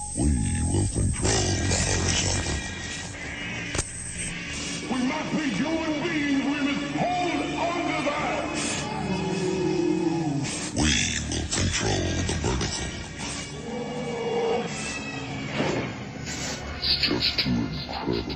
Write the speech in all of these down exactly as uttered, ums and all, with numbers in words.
We will control the horizontal. We must be human beings. We must hold on to that. We will control the vertical. It's just too incredible.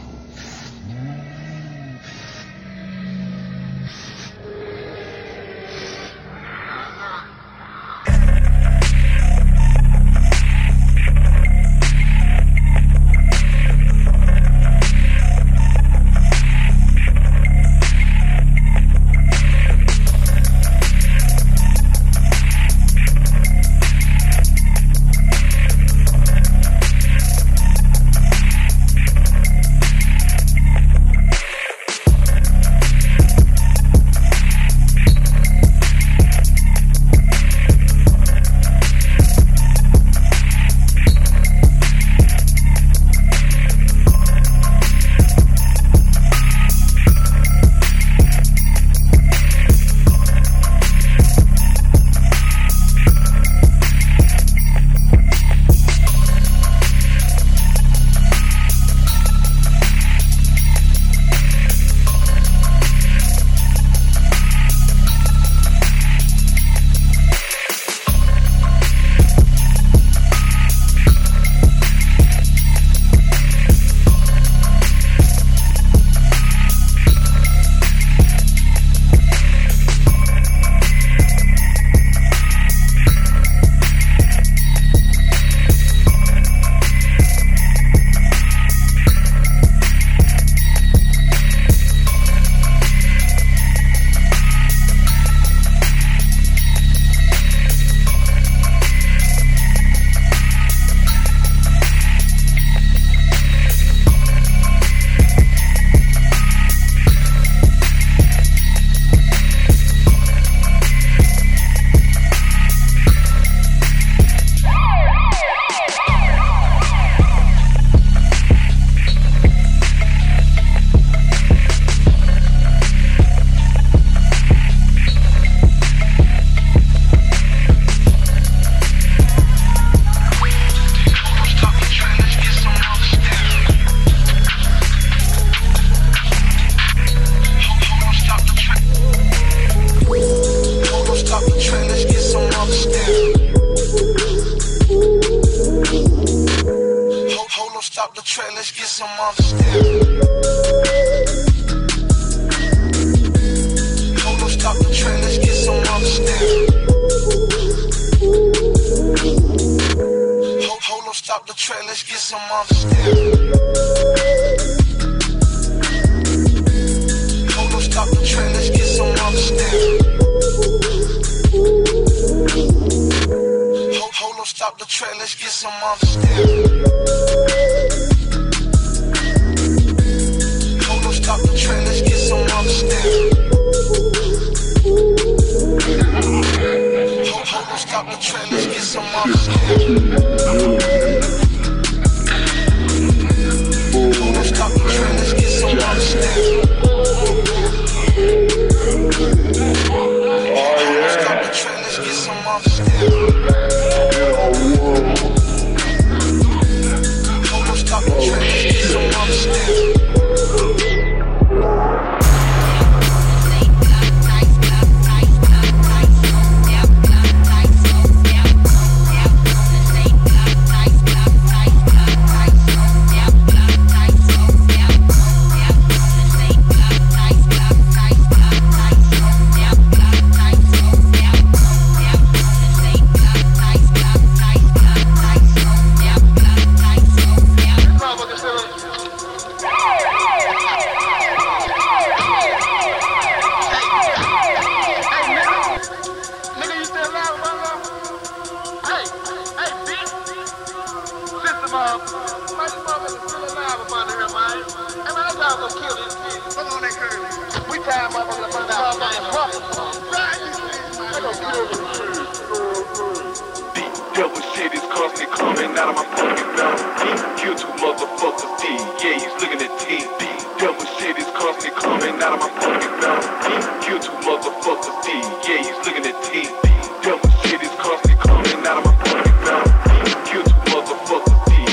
Devil shit is constantly coming out of my pocket now. Kill two motherfuckers, D.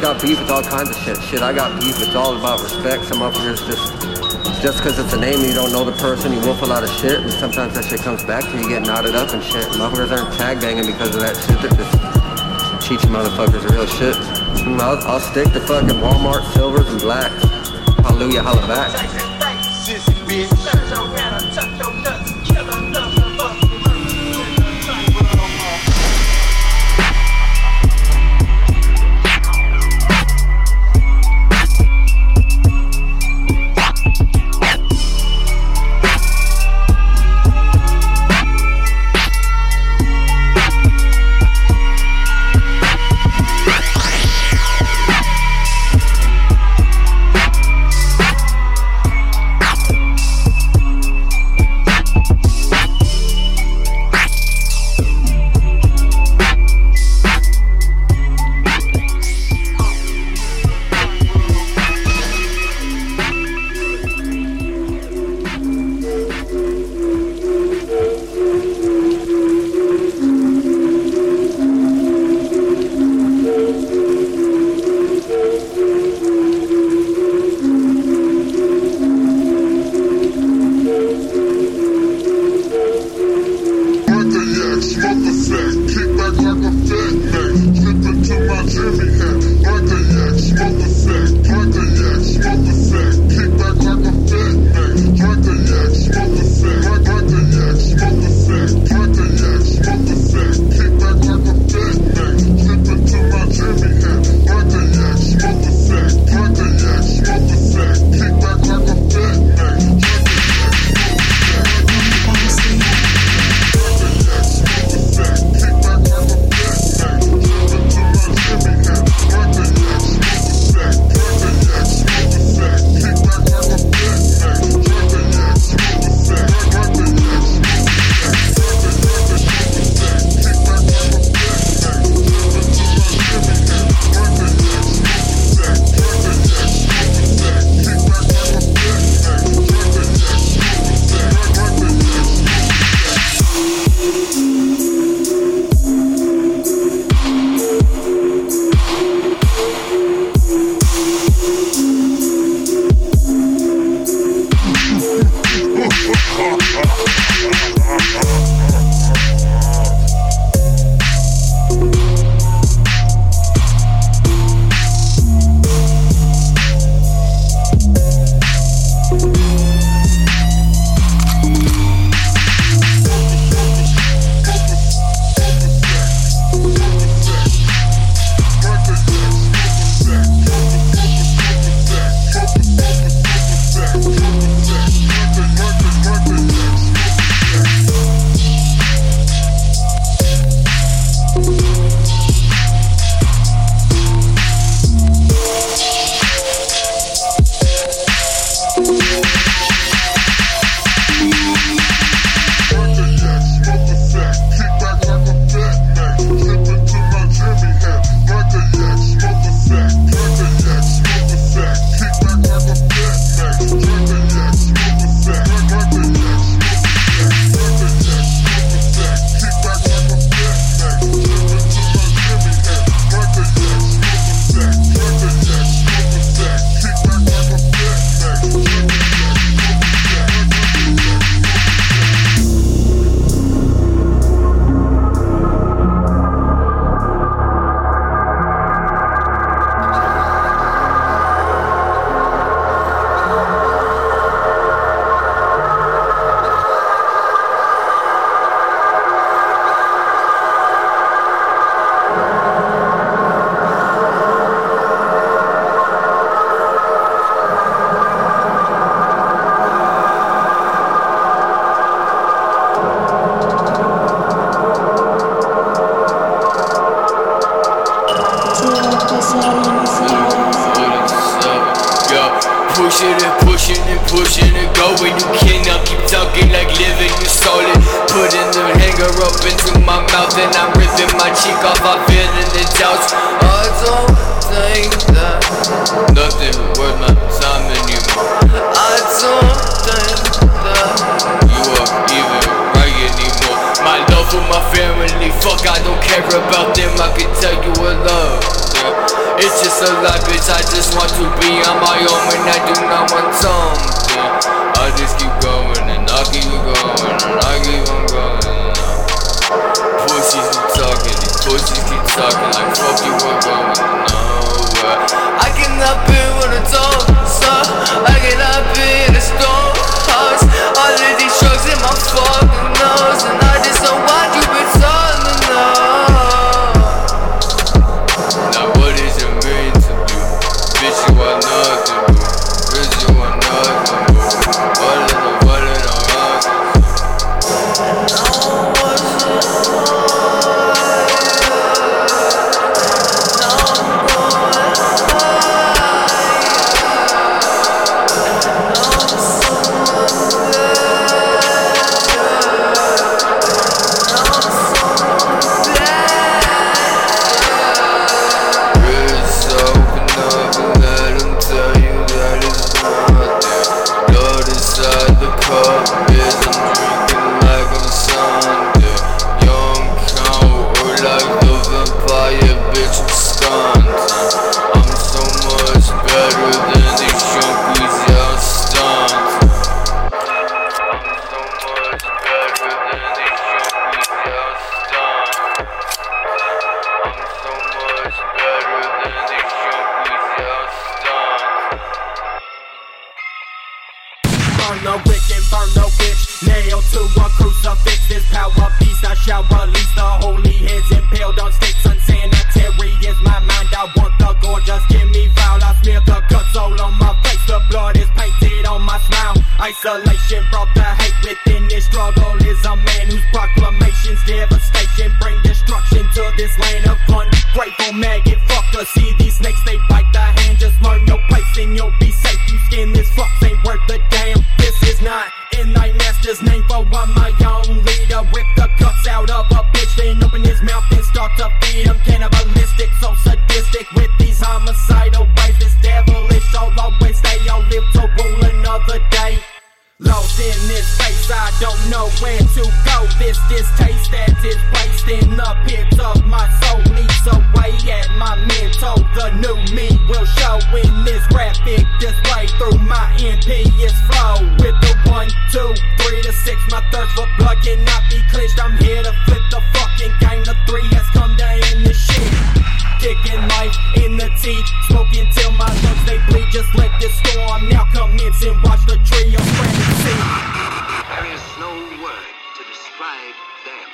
got beef with all kinds of shit. Shit, I got beef. It's all about respect. Some motherfuckers just, just because it's a name and you don't know the person, you wolf a lot of shit, and sometimes that shit comes back to you, you get knotted up and shit. Motherfuckers aren't tag banging because of that shit. They're just teaching motherfuckers real shit. I'll, I'll stick to fucking Walmart silvers and blacks. Hallelujah, holla back. pushing and pushing and pushing and going. You cannot keep talking like living, you solid. Putting the hanger up into my mouth and I'm ripping my cheek off. I'm feeling the doubts. I don't think that nothing worth my time anymore. I don't think that you are even right anymore. My love for my family, fuck, I don't care about them. I can tell you a love. yeah. It's just a life, bitch, I just want to be on my own and I do not want something. I just keep going and I keep going and I keep on going. Pussies keep talking, these pussies keep talking like fuck you, we're going nowhere. I cannot be with a dog, son. I cannot be in a stone house. All of these drugs in my fucking nose, and I just don't want you be telling now. Now what is it mean to you? Bitch, you are nothing, boo. Bitch, you are nothing, boo. What is it, what is it, what is it? No, what's it? Isolation brought the hate within this struggle. Is a man whose proclamations devastation bring destruction to this land of ungrateful maggot fucker. See these snakes, they bite the hand. Just learn your place and you'll be safe. You skin this fuck ain't worth a damn. This is not in thy master's name. For I'm my own leader. Rip the guts out of a bitch, then open his mouth and start to feed him. Cannibalistic, so sadistic with these homicidal ways. This devilish, I'll always stay. I'll live to rule another day. Lost in this space, I don't know where to go. This distaste that is placed in the pit of my soul leads away at my mental. The new me will show in this graphic display through my impious flow. With the one, two, three to six, my thirst for blood cannot be clenched. I'm here to flip the fucking game. The three has come down in the shit. Kicking life in the teeth, smoking till my lungs they bleed. Just let this storm now commence and watch the trio spread and see. There is no word to describe them.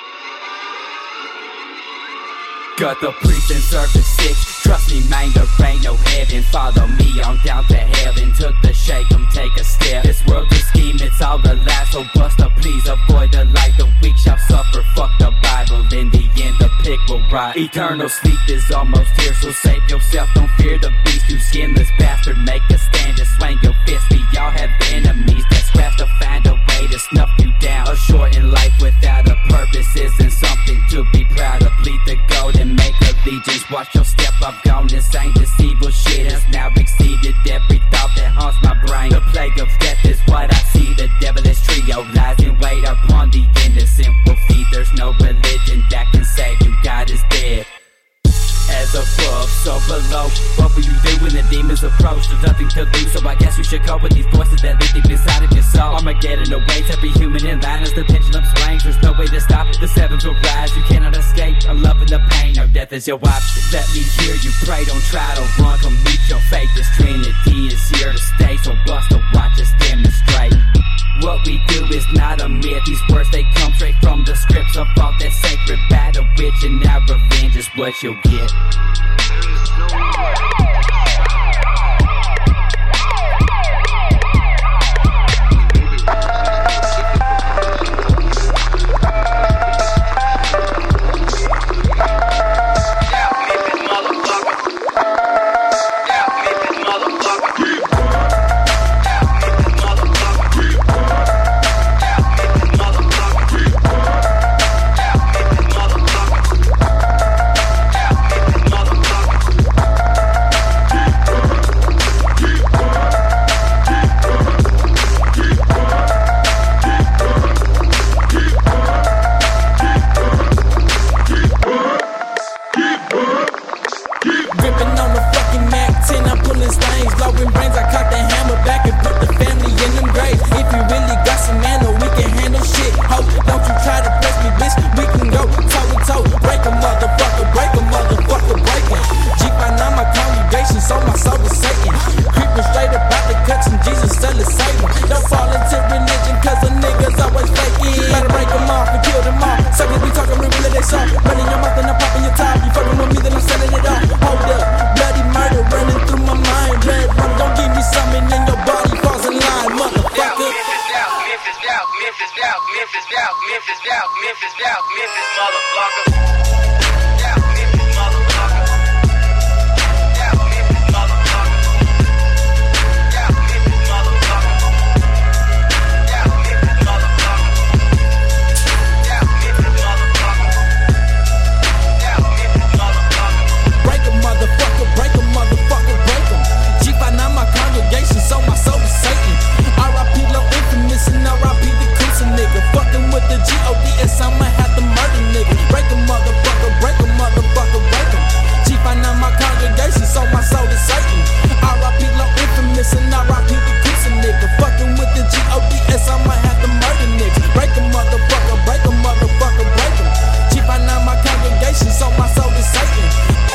Got the priest and serve the sick. Trust me, man, there ain't no heaven. Follow me on down to heaven. Took the shake, come take a step. This world is scheme, it's all a lie. So buster, please avoid the light. The weak shall suffer, fuck the Bible. In the end, the pig will rot. Eternal sleep is almost here, so save yourself. Don't fear the beast, you skinless bastard. Make a stand and swing your fist. We all have enemies that scratch to find a way to snuff you down. A shortened life without a purpose isn't something to be proud of. Bleed the gold and make allegiance. Watch your step, I've gone insane. This evil shit has now exceeded every thought that haunts my brain. The plague of death is what I see. The devilish trio lies in wait upon the innocent will feed. There's no religion that can save you. God is dead. As above, so below. What will you do when the demons approach? There's nothing to lose, so I guess you should cope with these voices that live deep inside of your soul. Armageddon awaits every human in line as the pendulum swings. There's no way to stop it, the sevens will rise. You cannot escape, I'm loving the pain. No death is your option. Let me hear you pray, don't try to run. Come meet your fate, this Trinity is here to stay. So bust to watch us demonstrate. What we do is not a myth. These words, they come straight from the scripts of all that sacred battle. Which and now revenge is what you'll get. There is no word. Memphis doubt, Memphis doubt, Memphis doubt, Memphis doubt, Memphis motherfucker. Doubt, Memphis motherfucker. Doubt, Memphis motherfucker. Doubt, Memphis motherfucker. Doubt, Memphis motherfucker. Doubt, Memphis motherfucker. Doubt, Memphis motherfucker. Break a motherfucker, break a motherfucker, break em. G five nine my congregation, sold my soul to Satan. R I P Low Infamous and R I P the Coosa nigga. Fucking with the G O D S, I'ma have to murder nigga. Break a motherfucker, break a motherfucker, break em. G five nine my congregation, sold my soul to Satan. R I P Low Infamous and R I P the Coosa nigga. Fucking with the G O D S, I'ma have to murder nigga. Break a motherfucker, break a motherfucker, break em. G five nine my congregation, sold my soul to Satan.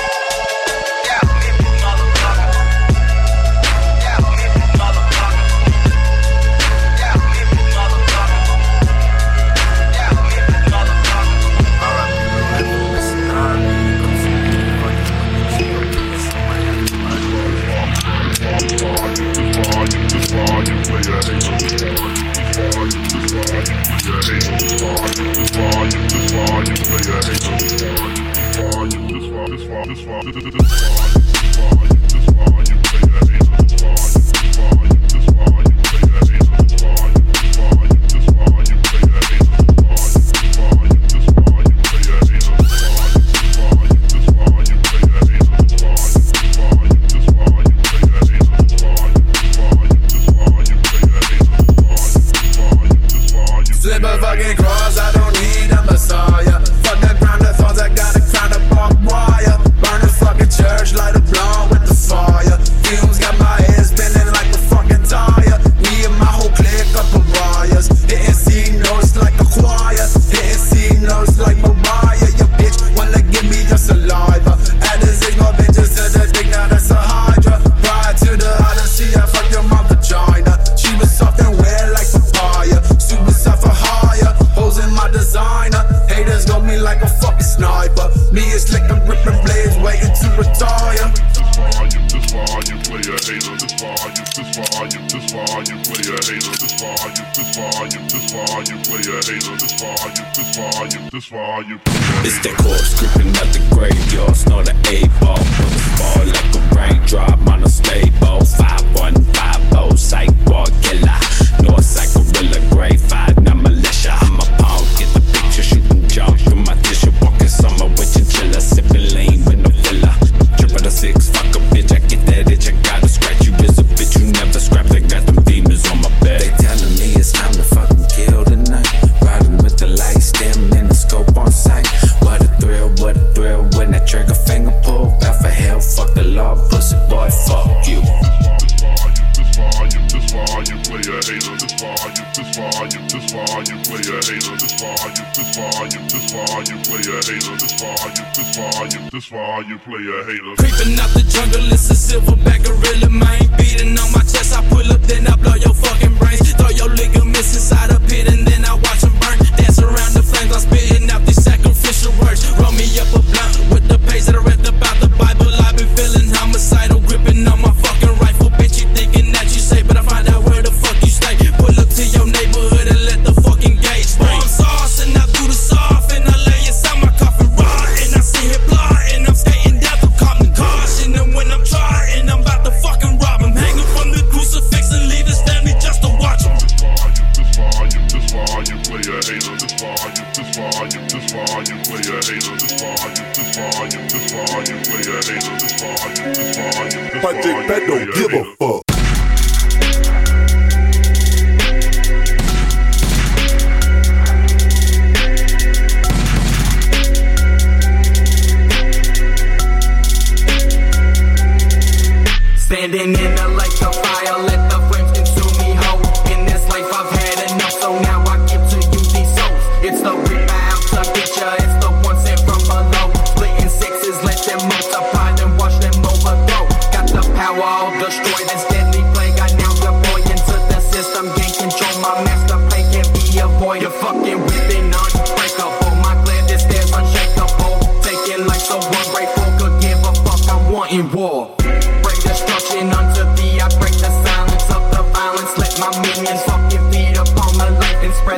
It's that corpse creeping out the graveyard, snort an eight ball, put the ball like a raindrop on a stable. Five one five oh, psych wall killer, North side gorilla, grade five, now militia. I'm a pawn, get the picture, shooting jump through my tissue, walking summer with chinchilla, sipping lean with no filler. Triple the six, fuck a bitch, I get that itch, I gotta scratch you. Is a bitch you never scrapped, I got them demons on my back. They telling me it's time to fucking kill tonight. Riding with the lights, dim in the scope on sight. What a thrill, what a thrill when that trigger finger pull. Bout for hell, fuck the law, pussy boy, fuck you. This far you play a hater, this far you, this far you, this far you play a hater, this far you, this far you, this far you play a hater, this far you, this far you, this far you play a hater. Creeping out the jungle, it's a silverback gorilla, man. Beating on my chest, I pull up, then I blow your fucking brains. Throw your ligaments inside a pit, and then I watch them burn. Dance around the flames, I'm spitting out these sacrificial words. Roll me up a blunt with the page that I read about the Bible. I've been feeling homicidal, gripping on my fucking rifle. Bitch, you thinking that you safe, but I find out where the fuck you stay. Pull up to your neighborhood and let the fucking gate spray. Bomb sauce, and I do the soft, and I lay inside my coffin raw, and I see it blood, and I'm skating down through Compton caution. And when I'm trying, I'm about to fucking rob him. Hanging from the crucifix and leave his family just to watch him. This far you, this far you play a hater, this far you, this far you, this far you play a hater, this far you, this far you, this far you play a hater, this far you, this far you, this far you play a hater. Project Pat don't give a fuck. Standing in the lake of fire, let the flames consume me whole. In this life I've had enough, so now I give to you these souls. It's the rip out to get ya, it's the one sent from below. Splitting sixes, let them multiply and watch them overthrow. Got the power, I'll destroy this deadly plague. I now deploy into the system, gain control. My master play can't be avoided. Fucking whipping unbreakable, my gladness there's unshakable. Taking life so ungrateful, could give a fuck, I'm wanting war. Destruction unto thee, I break the silence of the violence. Let my minions fucking feed upon my life and spread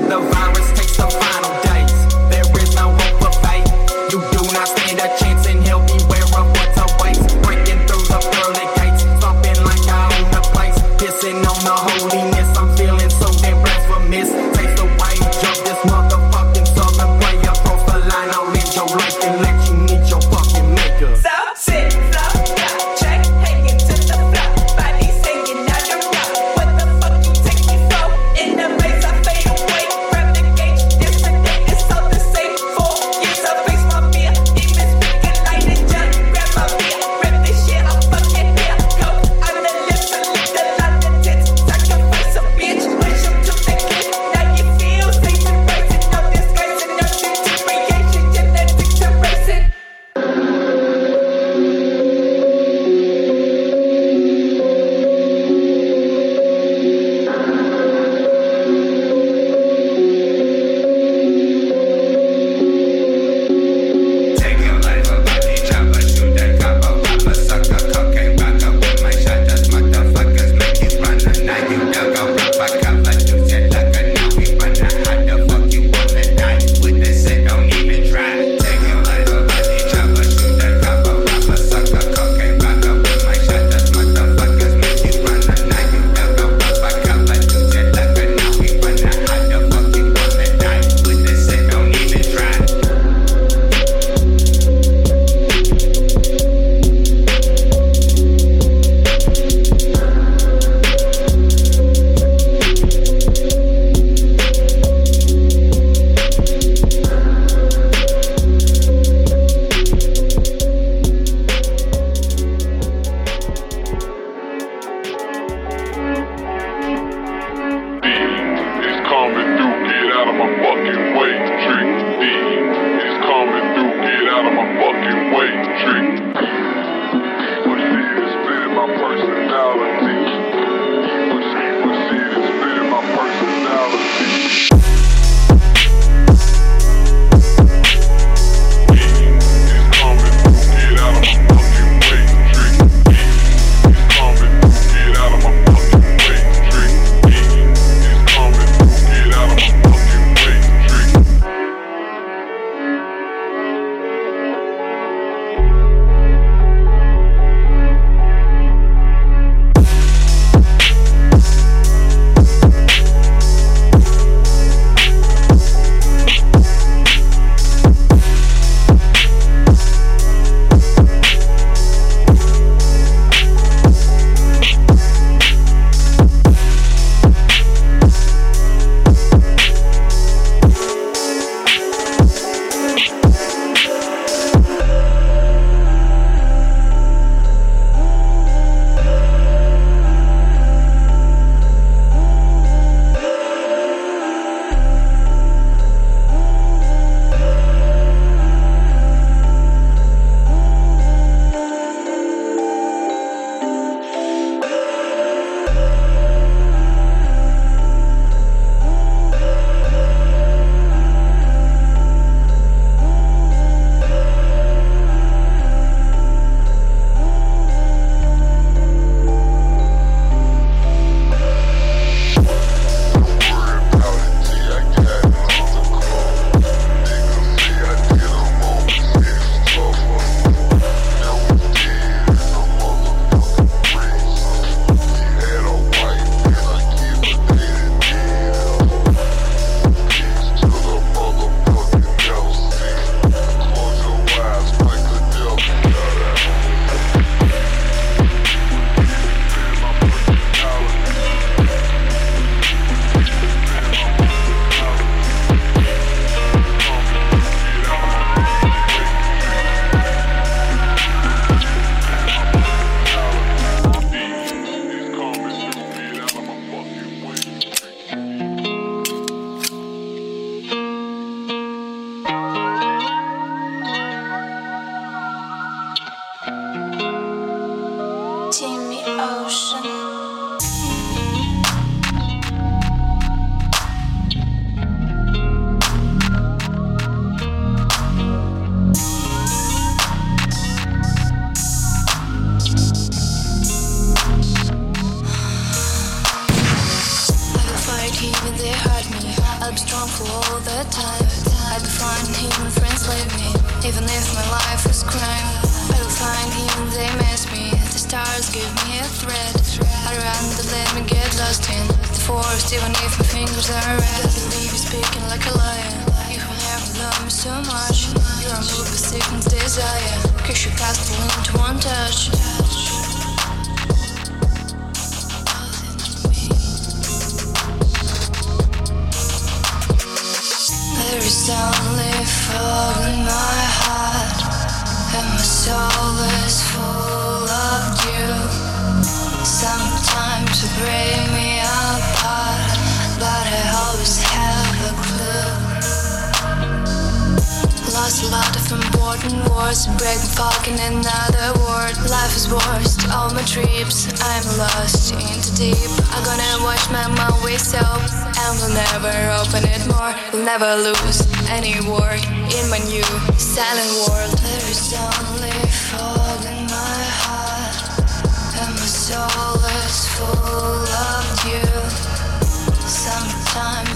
harmful all the time. I will find even friends leave me, even if my life is crime. I will find even they miss me. The stars give me a thread. I run to let me get lost in the forest, even if my fingers are red. I believe you're speaking like a liar. You will never love me so much. You're a move with sickness, desire. Kiss your castle into one touch. There is only fog in my heart, and my soul is full of you. Sometimes you break me apart, but I always have a clue. Lost a lot of important words, break my fucking another word. Life is worst, all my trips, I'm lost into deep. I'm gonna watch my mouth waste up, and we'll never open it more. We'll never lose any word in my new silent world. There is only fog in my heart, and my soul is full of you. Sometimes